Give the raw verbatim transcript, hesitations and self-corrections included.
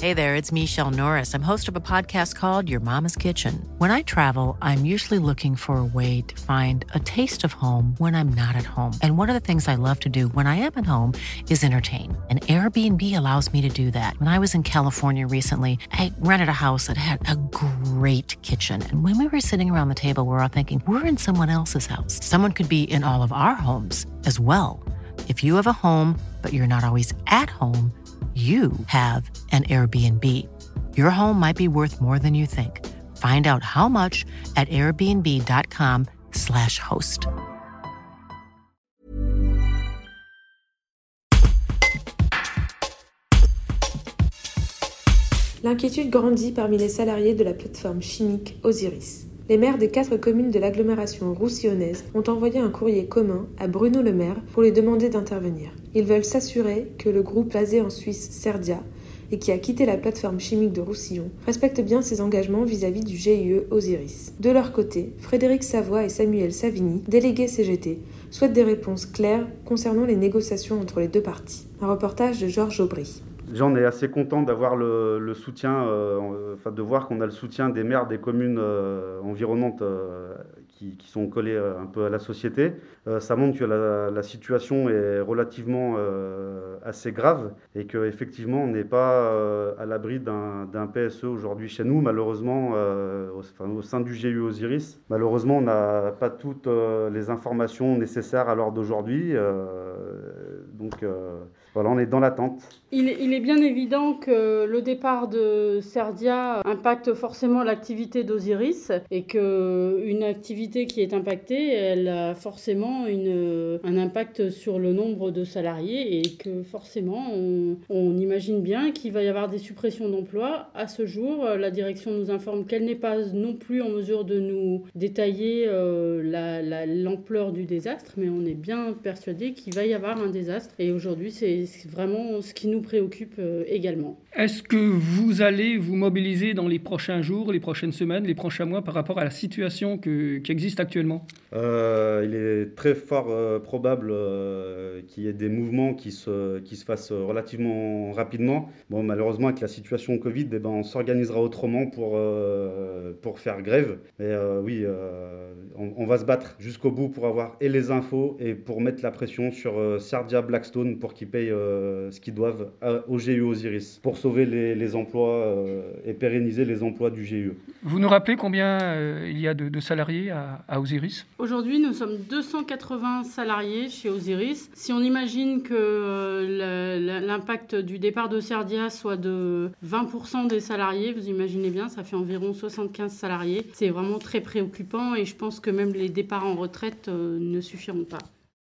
Hey there, it's Michelle Norris. I'm host of a podcast called Your Mama's Kitchen. When I travel, I'm usually looking for a way to find a taste of home when I'm not at home. And one of the things I love to do when I am at home is entertain. And Airbnb allows me to do that. When I was in California recently, I rented a house that had a great kitchen. And when we were sitting around the table, we were all thinking, we're in someone else's house. Someone could be in all of our homes as well. If you have a home, but you're not always at home, you have an Airbnb. Your home might be worth more than you think. Find out how much at airbnb.com slash host. L'inquiétude grandit parmi les salariés de la plateforme chimique Osiris. Les maires des quatre communes de l'agglomération roussillonnaise ont envoyé un courrier commun à Bruno Le Maire pour lui demander d'intervenir. Ils veulent s'assurer que le groupe basé en Suisse Cerdia et qui a quitté la plateforme chimique de Roussillon respecte bien ses engagements vis-à-vis du G I E Osiris. De leur côté, Frédéric Savoie et Samuel Savigny, délégués C G T, souhaitent des réponses claires concernant les négociations entre les deux parties. Un reportage de Georges Aubry. Déjà, on est assez content d'avoir le, le soutien, euh, enfin de voir qu'on a le soutien des maires des communes euh, environnantes euh, qui, qui sont collées euh, un peu à la société. Euh, ça montre que la, la situation est relativement euh, assez grave et qu'effectivement on n'est pas euh, à l'abri d'un, d'un P S E aujourd'hui chez nous, malheureusement, euh, au, enfin, au sein du G I E Osiris. Malheureusement, on n'a pas toutes euh, les informations nécessaires à l'heure d'aujourd'hui. Euh, donc euh, voilà, on est dans l'attente. Il est, il est bien évident que le départ de Cerdia impacte forcément l'activité d'Osiris et qu'une activité qui est impactée, elle a forcément une, un impact sur le nombre de salariés et que forcément on, on imagine bien qu'il va y avoir des suppressions d'emplois. À ce jour, la direction nous informe qu'elle n'est pas non plus en mesure de nous détailler euh, la, la, l'ampleur du désastre, mais on est bien persuadé qu'il va y avoir un désastre et aujourd'hui c'est, c'est vraiment ce qui nous préoccupe euh, également. Est-ce que vous allez vous mobiliser dans les prochains jours, les prochaines semaines, les prochains mois par rapport à la situation que, qui existe actuellement ? euh, Il est très fort euh, probable euh, qu'il y ait des mouvements qui se, qui se fassent relativement rapidement. Bon, malheureusement, avec la situation Covid, eh ben, on s'organisera autrement pour, euh, pour faire grève. Mais euh, oui, euh, on, on va se battre jusqu'au bout pour avoir et les infos et pour mettre la pression sur euh, Cerdia Blackstone pour qu'ils payent euh, ce qu'ils doivent au G I E Osiris pour sauver les, les emplois euh, et pérenniser les emplois du G I E. Vous nous rappelez combien euh, il y a de, de salariés à, à Osiris ? Aujourd'hui, nous sommes deux cent quatre-vingts salariés chez Osiris. Si on imagine que euh, la, l'impact du départ de Cerdia soit de vingt pour cent des salariés, vous imaginez bien, ça fait environ soixante-quinze salariés. C'est vraiment très préoccupant et je pense que même les départs en retraite euh, ne suffiront pas.